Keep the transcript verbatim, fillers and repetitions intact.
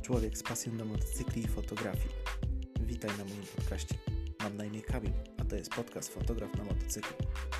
człowiek z pasją do motocykli i fotografii. Witaj na moim podcaście. Mam na imię Kamil, a to jest podcast Fotograf na motocyklu.